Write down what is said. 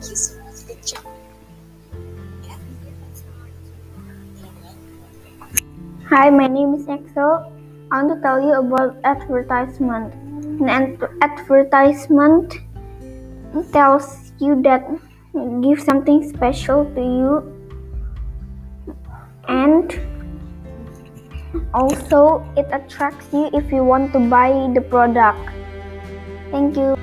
you so much. Good job. Hi, my name is Axel. I want to tell you about advertisement. An advertisement tells you that give something special to you, and also it attracts you if you want to buy the product. Thank you.